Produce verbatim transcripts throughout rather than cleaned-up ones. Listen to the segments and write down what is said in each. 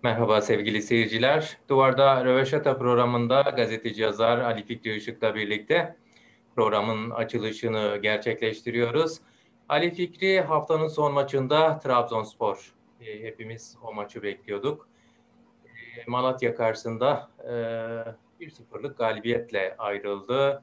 Merhaba sevgili seyirciler. Duvarda Röveşata programında gazeteci yazar Ali Fikri Işık'la birlikte programın açılışını gerçekleştiriyoruz. Ali Fikri haftanın son maçında Trabzonspor. E, hepimiz o maçı bekliyorduk. E, Malatya karşısında e, bir sıfırlık galibiyetle ayrıldı.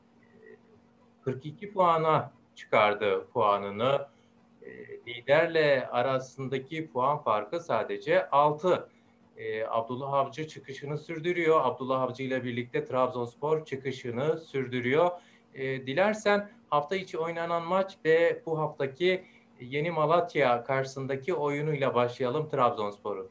kırk iki puana çıkardı puanını. E, liderle arasındaki puan farkı sadece altı. E, Abdullah Avcı çıkışını sürdürüyor. Abdullah Avcı ile birlikte Trabzonspor çıkışını sürdürüyor. E, dilersen hafta içi oynanan maç ve bu haftaki Yeni Malatya karşısındaki oyunuyla başlayalım Trabzonspor'un.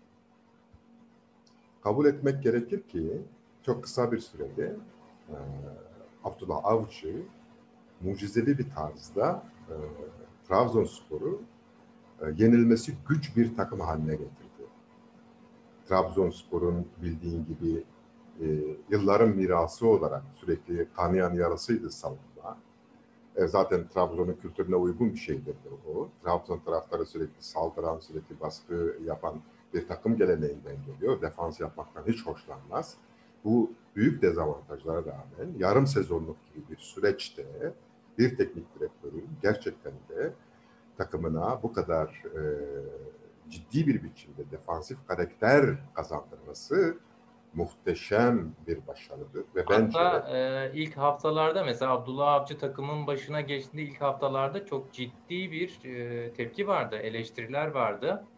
Kabul etmek gerekir ki çok kısa bir sürede e, Abdullah Avcı mucizevi bir tarzda e, Trabzonspor'u e, yenilmesi güç bir takım haline getirdi. Trabzonspor'un bildiğin gibi e, yılların mirası olarak sürekli kanayan yarasıydı savunma. E, zaten Trabzon'un kültürüne uygun bir şeydir o. Trabzon taraftarı sürekli saldıran, sürekli baskı yapan bir takım geleneğinden geliyor. Defans yapmaktan hiç hoşlanmaz. Bu büyük dezavantajlara rağmen yarım sezonluk gibi bir süreçte bir teknik direktörün gerçekten de takımına bu kadar e, ciddi bir biçimde defansif karakter kazandırması muhteşem bir başarıdır ve bence Hatta e, ilk haftalarda mesela Abdullah Avcı takımın başına geçtiğinde ilk haftalarda çok ciddi bir e, tepki vardı, eleştiriler vardı.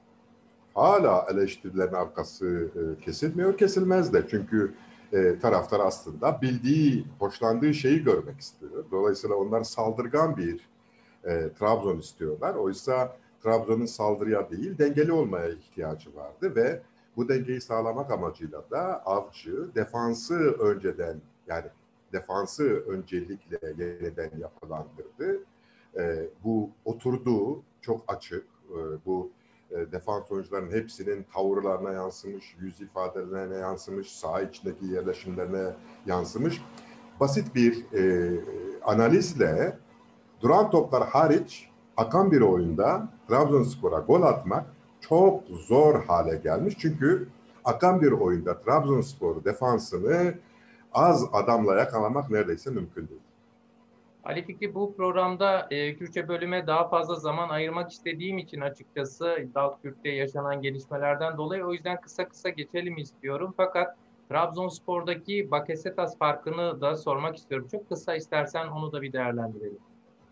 hala eleştirilerin arkası e, kesilmiyor, kesilmez de. Çünkü e, taraftar aslında bildiği, hoşlandığı şeyi görmek istiyor. Dolayısıyla onlar saldırgan bir e, Trabzon istiyorlar. Oysa Trabzon'un saldırıya değil, dengeli olmaya ihtiyacı vardı ve bu dengeyi sağlamak amacıyla da Avcı defansı önceden, yani defansı öncelikle yeniden yapılandırdı. E, bu oturduğu çok açık, e, bu e, defans oyuncularının hepsinin tavırlarına yansımış, yüz ifadelerine yansımış, saha içindeki yerleşimlerine yansımış. Basit bir e, analizle duran toplar hariç akan bir oyunda Trabzonspor'a gol atmak çok zor hale gelmiş. Çünkü akan bir oyunda Trabzonspor defansını az adamla yakalamak neredeyse mümkün değil. Ali Fikri, bu programda e, Kürtçe bölüme daha fazla zaman ayırmak istediğim için açıkçası Dalkürt'te yaşanan gelişmelerden dolayı o yüzden kısa kısa geçelim istiyorum. Fakat Trabzonspor'daki Bakasetas farkını da sormak istiyorum. Çok kısa istersen onu da bir değerlendirelim.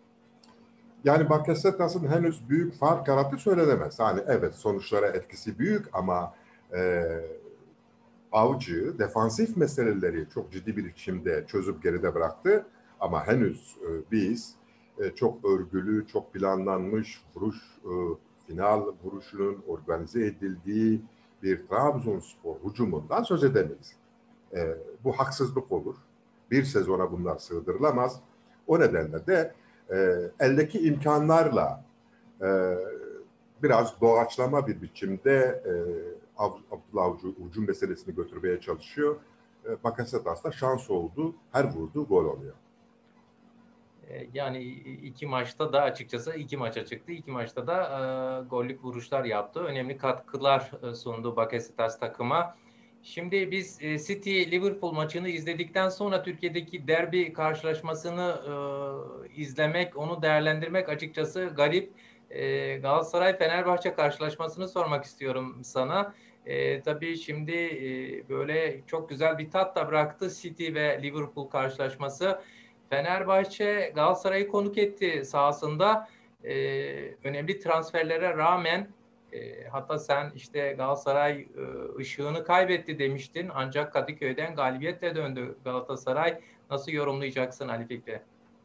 Yani Bakasetas'ın henüz büyük fark yarattığı söylenemez. Hani evet, sonuçlara etkisi büyük ama e, Avcı defansif meseleleri çok ciddi bir biçimde çözüp geride bıraktı. Ama henüz e, biz e, çok örgülü, çok planlanmış vuruş, e, final vuruşunun organize edildiği bir Trabzonspor hücumundan söz edemeyiz. E, bu haksızlık olur. Bir sezona bunlar sığdırılamaz. O nedenle de e, eldeki imkanlarla e, biraz doğaçlama bir biçimde e, Abdullah Avcı hücum meselesini götürmeye çalışıyor. E, Bakasetas da şans oldu. Her vurduğu gol oluyor. E, Yani iki maçta da açıkçası iki maça çıktı. İki maçta da e, gollük vuruşlar yaptı. Önemli katkılar e, sundu Bakasetas takıma. Şimdi biz e, City-Liverpool maçını izledikten sonra Türkiye'deki derbi karşılaşmasını e, izlemek, onu değerlendirmek açıkçası garip. E, Galatasaray-Fenerbahçe karşılaşmasını sormak istiyorum sana. E, tabii şimdi e, böyle çok güzel bir tat da bıraktı City ve Liverpool karşılaşması. Fenerbahçe Galatasaray'ı konuk etti sahasında. Ee, önemli transferlere rağmen e, hatta sen işte Galatasaray e, ışığını kaybetti demiştin. Ancak Kadıköy'den galibiyetle döndü Galatasaray. Nasıl yorumlayacaksın Ali Fikri?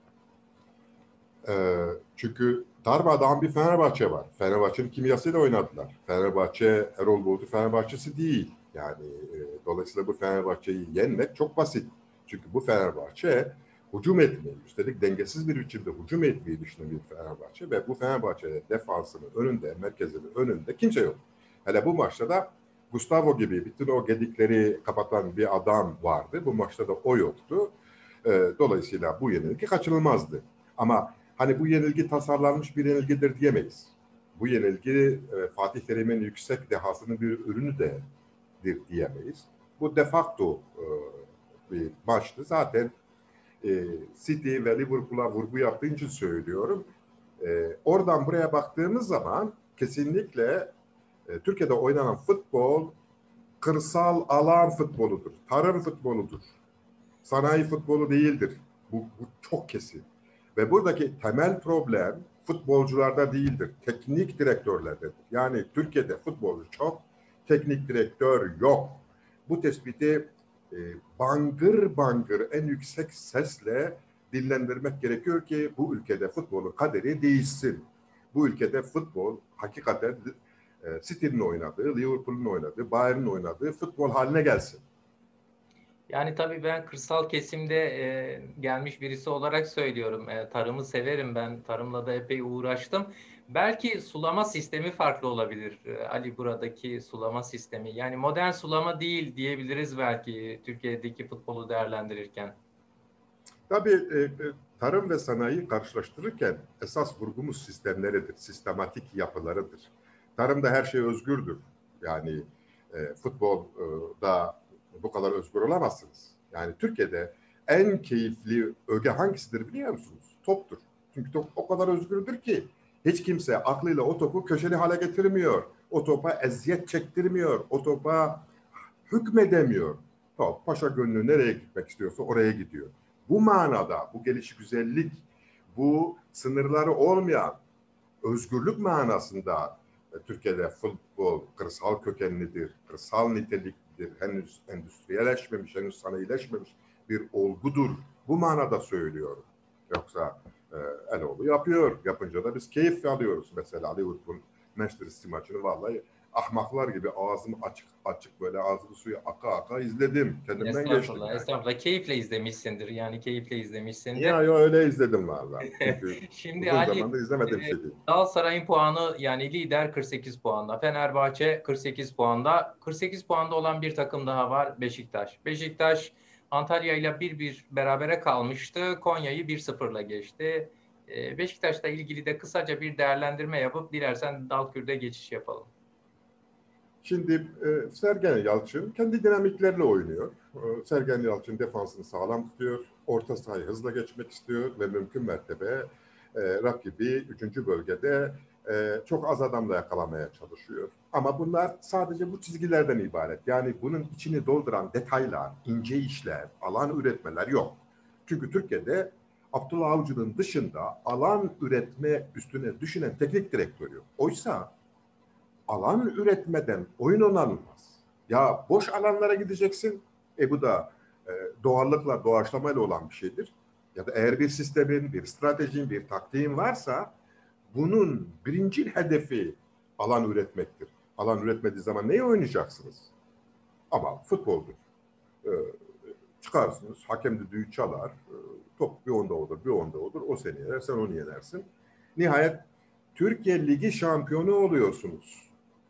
E, çünkü darmadağın bir Fenerbahçe var. Fenerbahçe'nin kimyasıyla oynadılar. Fenerbahçe Erol Bulut'u Fenerbahçe'si değil. Yani e, dolayısıyla bu Fenerbahçe'yi yenmek çok basit. Çünkü bu Fenerbahçe hücum etmeyi, üstelik dengesiz bir biçimde hücum etmeyi düşünen bir Fenerbahçe ve bu Fenerbahçe'de defansının önünde, merkezinin önünde kimse yok. Hele bu maçta da Gustavo gibi bütün o gedikleri kapatan bir adam vardı. Bu maçta da o yoktu. E, dolayısıyla bu yenilgi kaçınılmazdı. Ama hani bu yenilgi tasarlanmış bir yenilgidir diyemeyiz. bu yenilgi e, Fatih Terim'in yüksek dehasının bir ürünü de diyemeyiz. Bu de facto e, bir maçtı. Zaten e, City ve Liverpool'a vurgu yaptığı için söylüyorum. E, oradan buraya baktığımız zaman kesinlikle e, Türkiye'de oynanan futbol kırsal alan futboludur. Tarım futboludur. Sanayi futbolu değildir. Bu, bu çok kesin. Ve buradaki temel problem futbolcularda değildir. Teknik direktörlerdedir. Yani Türkiye'de futbolcu çok, teknik direktör yok. Bu tespiti e, bangır bangır en yüksek sesle dillendirmek gerekiyor ki bu ülkede futbolun kaderi değişsin. Bu ülkede futbol hakikaten e, City'nin oynadığı, Liverpool'un oynadığı, Bayern'in oynadığı futbol haline gelsin. Yani tabii ben kırsal kesimde e, gelmiş birisi olarak söylüyorum. E, tarımı severim ben. Tarımla da epey uğraştım. Belki sulama sistemi farklı olabilir. E, Ali buradaki sulama sistemi. Yani modern sulama değil diyebiliriz belki Türkiye'deki futbolu değerlendirirken. Tabii e, tarım ve sanayi karşılaştırırken esas vurgumuz sistemleridir, sistematik yapılarıdır. Tarımda her şey özgürdür. Yani e, futbolda bu kadar özgür olamazsınız. Yani Türkiye'de en keyifli öge hangisidir biliyor musunuz? Toptur. Çünkü top o kadar özgürdür ki hiç kimse aklıyla o topu köşeli hale getirmiyor. O topa eziyet çektirmiyor. O topa hükmedemiyor. Top paşa gönlü nereye gitmek istiyorsa oraya gidiyor. Bu manada, bu gelişigüzellik, bu sınırları olmayan özgürlük manasında e, Türkiye'de futbol kırsal kökenlidir, kırsal niteliklidir, henüz endüstriyeleşmemiş, henüz sanayileşmemiş bir olgudur. Bu manada söylüyorum. Yoksa e, Eloğlu yapıyor. Yapınca da biz keyif alıyoruz. Mesela Liverpool Manchester City maçını vallahi ahmaklar gibi ağzım açık açık böyle ağzım suyu aka aka izledim. Kendimden geçtim Estağfurullah, yani. estağfurullah. Keyifle izlemişsindir. Yani keyifle izlemişsindir. Ya, ya öyle izledim vallahi. Çünkü Şimdi uzun Ali, zamandır e, izlemediğim şey değil. Galatasaray'ın puanı yani lider kırk sekiz puanda. Fenerbahçe kırk sekiz puanda. kırk sekiz puanda olan bir takım daha var Beşiktaş. Beşiktaş Antalya ile bir bir berabere kalmıştı. Konya'yı bir sıfırla geçti. E, Beşiktaş'la ilgili de kısaca bir değerlendirme yapıp dilersen Dalkür'de geçiş yapalım. Şimdi e, Sergen Yalçın kendi dinamiklerle oynuyor. E, Sergen Yalçın defansını sağlam tutuyor. Orta sahayı hızla geçmek istiyor ve mümkün mertebe e, rakibi üçüncü bölgede e, çok az adamla yakalamaya çalışıyor. Ama bunlar sadece bu çizgilerden ibaret. Yani bunun içini dolduran detaylar, ince işler, alan üretmeler yok. Çünkü Türkiye'de Abdullah Avcı'nın dışında alan üretme üstüne düşünen teknik direktör yok. Oysa alan üretmeden oyun oynanılmaz. Ya boş alanlara gideceksin. E bu da e, doğallıkla, doğaçlamayla olan bir şeydir. Ya da eğer bir sistemin, bir stratejin, bir taktiğin varsa bunun birinci hedefi alan üretmektir. Alan üretmediği zaman neyi oynayacaksınız? Ama futboldur. E, çıkarsınız, hakem düdüğü çalar, e, top bir onda olur, bir onda olur. O seni yener, sen onu yenersin. Nihayet Türkiye Ligi şampiyonu oluyorsunuz.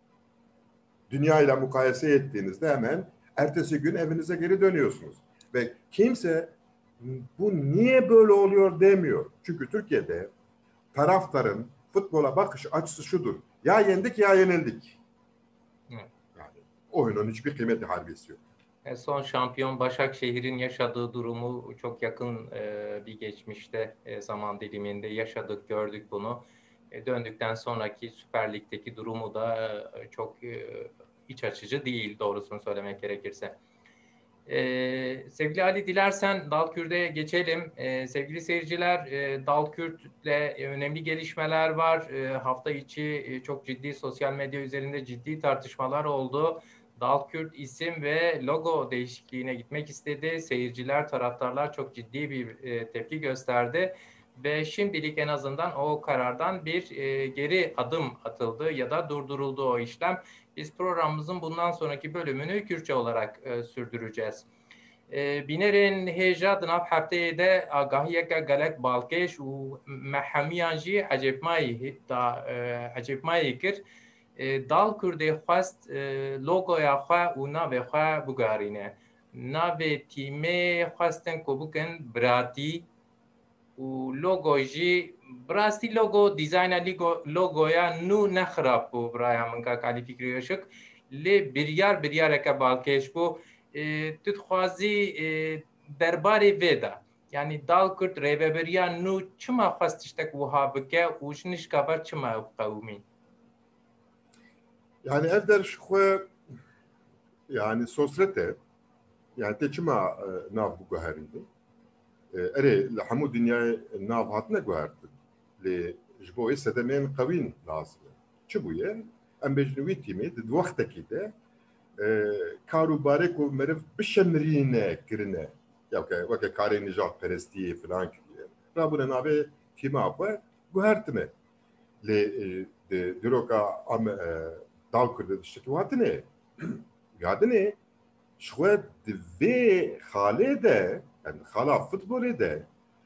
Dünya ile mukayese ettiğinizde hemen ertesi gün evinize geri dönüyorsunuz. Ve kimse bu niye böyle oluyor demiyor. Çünkü Türkiye'de taraftarın futbola bakış açısı şudur. Ya yendik ya yenildik. Evet. Yani oyunun hiçbir kıymeti harbiyesi yok. E, Son şampiyon Başakşehir'in yaşadığı durumu çok yakın e, bir geçmişte e, zaman diliminde yaşadık, gördük bunu. E, döndükten sonraki Süper Lig'deki durumu da e, çok e, iç açıcı değil doğrusunu söylemek gerekirse. E, sevgili Ali dilersen Dalkürt'e geçelim. E, sevgili seyirciler e, Dalkürt'le önemli gelişmeler var. E, hafta içi e, çok ciddi sosyal medya üzerinde ciddi tartışmalar oldu. Dalkürt isim ve logo değişikliğine gitmek istedi. Seyirciler, taraftarlar çok ciddi bir e, tepki gösterdi. Ve şimdilik en azından o karardan bir e, geri adım atıldı ya da durduruldu o işlem. Biz programımızın bundan sonraki bölümünü Kürtçe olarak e, sürdüreceğiz. بینرین هجا دناب هفته ده آگاهی که گلک بالکش و محمیان جی عجب مایی دا عجب مایی کرد دال کرده خواست لوگو یا خواه و ناوی خواه بگارینه ناوی تیمه خواستن که بکن براتی و لوگو جی براستی لوگو دیزاین لوگویا نو نخراب بو برای من کا کالی فکری شک لی بریار بریار که بالکش بو تدخوازی درباره ویدا yani dalkurt reveberiya nu çima xwastiştek wiha bike û ji nişkaber çima ew qewimî. Yani ev der xwe yani sosrete yani te çima nav bu guherîne. Erê li hemû dünyayê nav hatine guhertin. Lê ji bo wê sedemên qewîn lazim e. Çi bûye? Em bêjin wî tîmê di wextekî de kar û barê ku meriv bişemirîne kirine. Ya weke karê nijadperestiyê filan kiriye. Rabûne navê tîma xwe guhertine. Lê di diroka em dalkurdê tiştekî hatine. Yadinê ji xwe di vê xalê de yani xala futbolê de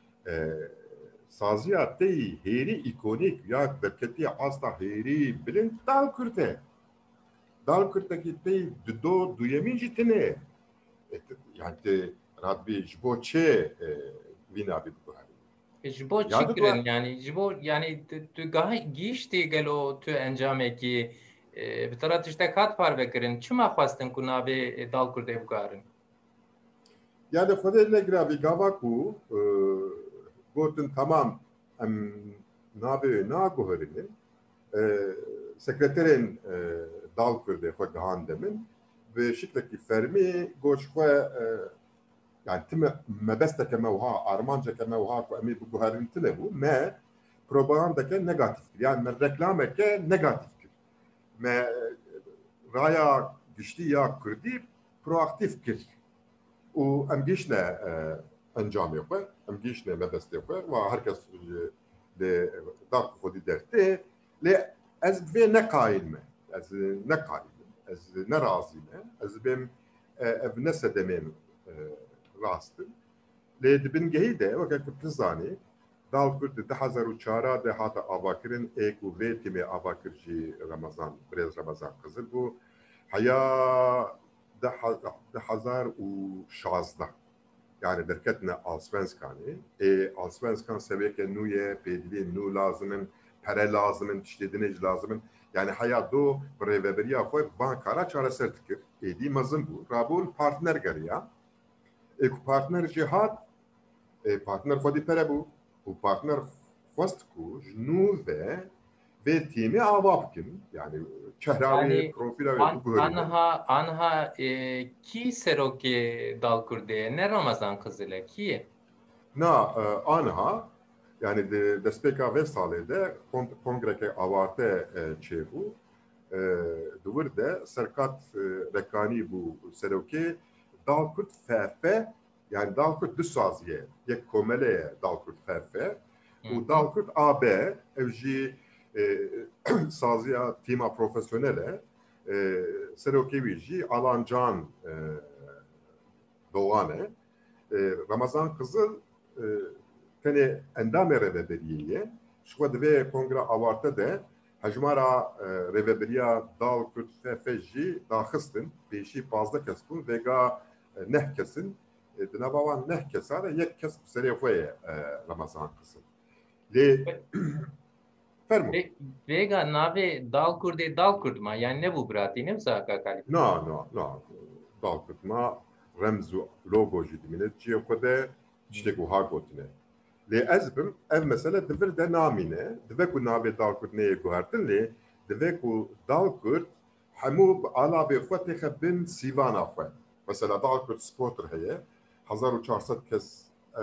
saziya tê hêrî îkonîk ya derketiya asta hêrî bilind dalkurd e. Dalkurdekî tê di do duyemîn jî tune. Yani tê radbî ji bo çê vî navê biguherîne. Ji bo çi kirin yani ji bo yani tu gihîştî gelo tu encamekî bi tera tiştek hat parvekirin çima xwastin ku navê dalkurdê biguherin? Yani xwedê negira vî gava ku gotin tamam em navê naguherînin sekreterên dalkurdê xwe gihan demin bi şiklekî fermî got ji xwe yani time mebesteke me wiha armanceke me wiha ku em ê biguherin tune bû me propagandeke negatif kir yani me reklameke negatif kir me raya giştî ya Kurdî proaktif kir û em gîşne encamê xwe em gîşne mebestê xwe wa herkes lê daq xwedî dertê lê ez vê neqayîl me ez neqayîl ez nerazî me ez bêm ev ne sedemên rastin lê di bingehî de weke ku tu zanî dalkurd di hezar û çara de hate avakirin ê ku vê tîmê avakir jî Remezan birêz Remezan Qizil bû heya di hezar û şazda yani derketine Allsvenskanê ê Allsvenskan seviyeke nû ye pêdiviyên nû lazimin pere lazimin tiştê dinê jî lazimin yani heya do bi rêveberiya xwe van kara çareser dikir êdî mezin bû rabûn partner geriya ê ku partner jî hat ê partner xwedî pere bû û partner xwest ku ji nû ve vê tîmê ava bikin yani çehrawê profîla wê biguherîne. Anha anha kî serokê dalkurdê ye ne Ramazan Qizil e kî ye? Na anha yani di destpêka vê salê de kongreke avarte çêbû di wir de serkat rekanî bû serokê Dalkurd F F yani Dalkurd du saziye yek komele ye Dalkurd F F û Dalkurd A B ev jî saziya tîma profesyonel e serokê wî jî Alancan Doğan e Ramazan Qizil tenê endamê rêveberiyê ye ji xwe di vê kongra avarte de hejmara rêveberiya Dalkurd F F jî daxistin pêşî panzdeh kes bûn vêga neh kesin di nava wan neh kesa de yek kes serê xwe ye Ramazan Qizil lê fermû vêga navê Dalkurdê Dalkurd ma yani ne bû biratî ne wisa ka kalî? Na na na Dalkurd ma remz û logo jî dimîne ciyê xwe de tiştek wiha gotine lê ez bim ev mesele di vir de namîne dibe ku navê Dalkurd neyê guhertin lê dibe ku Dalkurd hemû bi alavê xwe têxe bin sîvana xwe mesela Dalkurd Sporter heye hezar û çar sed kes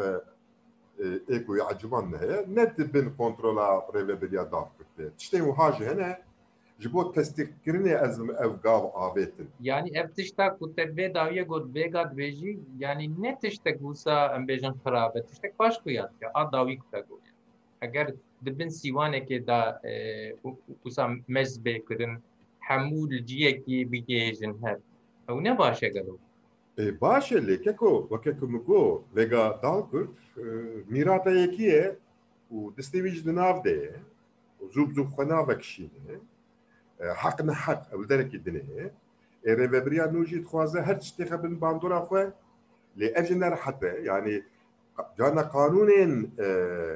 ê ku eciban ne heye ne dibin kontrola rêveberiya Dalkurd de tiştên wiha jî hene ji bo testîqkirinê ez ev gav avêtin. Yani ev tiştek ku te vê dawiye got vêga dibêjî yani ne tiştek wisa em bêjin xirab e tiştek baş ku yad ke a dawî ku te got eger dibin sîwanekê da wisa mezbê kirin hemû li ciyekî bigêjin hev ew ne baş e gelo? E baş e lê keko weke ku min got vêga Dalkurd mîrata yekî ye û destê wî jî di nav de ye zû bi zû xwe navekişîne haq ne haq ew derekî dinê ye ê rêveberiya nû jî dixwaze her tiştê xebin bandora xwe lê ev jî nerehet e yani cana qanûnên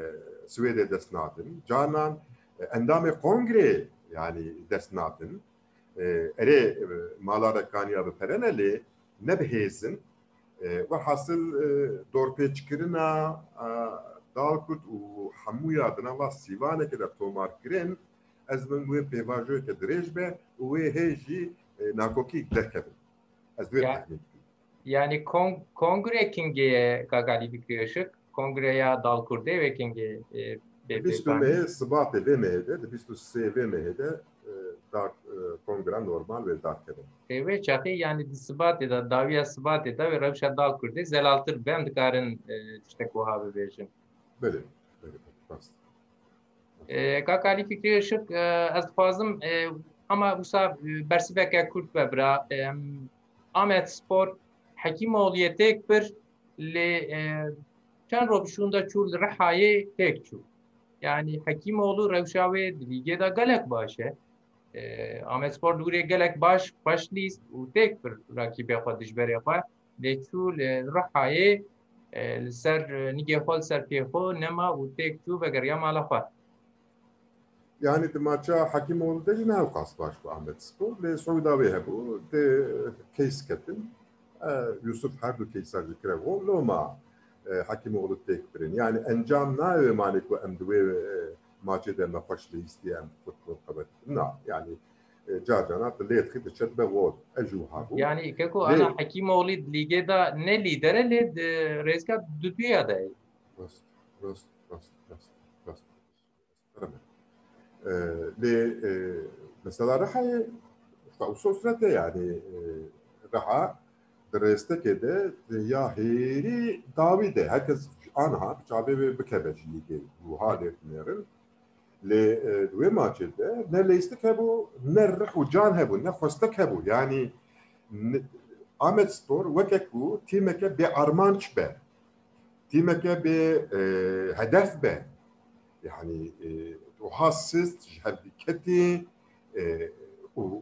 Swêdê dest nadin. Canan endamê kongre yani dest nadin. Erê mala rekaniya bi perenelê nebihêzin ve hasıl dorpêçkirina dalkurt û hemûya dinava sîvanekê de tomarkirin ez min wê pêvajoyeke dirêj be û wê hê jî nakokî derkevin. Ez wê tehmîn. Yani kong kongre kingeye Gagali Fikri Işık, kongreya Dalkurde ve kinge bîst û mehê Sibatê vê mehê de, bîst û sê vê mehê de kongre normal ve darkevin. Ve çaxi yani Sibatê da dawiya Sibatê da ve rewşa Dalkurde zelaltir ben dikarin tiştek wiha bibêjin. Belê, belê, rast. Gagali Fikri Işık ez dixwazim ama wisa bersiveke Kurd vebira Ahmet Spor Hekîmoğlu'ya tek bir li çend robşunda çû li Rihayê tek çû. Yani Hekîmoğlu rewşa wê di lîgê da gelek baş e. Ahmet Spor dûrê gelek baş baş lîst û tek bir rakîbê xwe dijberê xwe lê çû li Rihayê li ser nîgê xwe li ser pê xwe nema û tek çû vegeriya mala xwe. Yani di maça Hekîmoğlu de jî newqas baş bu Ahmet Spor lê Suûda wê hebû de keys ketin. Yusuf her du keysar zikre o loma Hekîmoğlu tek birin. Yani encam nayê mane ku em divê maçê de me xweş lî istiye em futbol qebet. Na yani carcana lê xî diçet be wod ejû hebû. Yani keko ana Hekîmoğlu lîgê da ne lidere lê rêzgâ duduya da. Rast, rast, rast, rast, rast. Lê mesela Rihayê usulsrete yani Riha Restekê de ya hêrî dawî de herkes anha çavê bikeve ji lîgê û halê dinêrin lê wê maçê de ne lêstik hebû ne rih û can hebû ne xwestek hebû yani Ahmet Spor wekek bû tîmeke bê armanc be tîmeke bê hedef be yani û hassist ji herketê û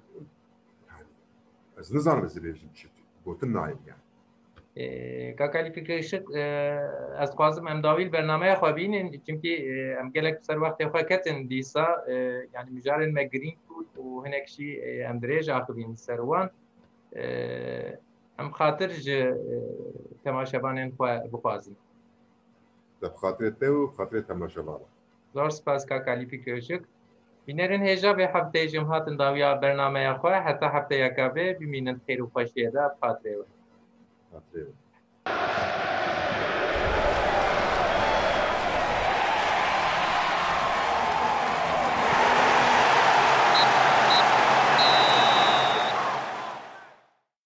ez nizanim ez bêjim çi gotin nayên yani. Gagali Fikri Işık ez dixwazim em dawî bernameya xwe bînin çünkü em gelek ser wextê xwe ketin dîsa yani mijarên me girîng bû û hinek jî em dirêj axivîn ser wan em xatir ji temaşevanên xwe bixwazin. Te bi xatirê te û xatirê temaşevanan. Zor spas Gagali Fikri Işık. Bînerên hêja vê hefteyê jî hatin dawiya bernameya xwe heta hefteyeka vê bimînin xêr û xweşiyê de bi xatirê we.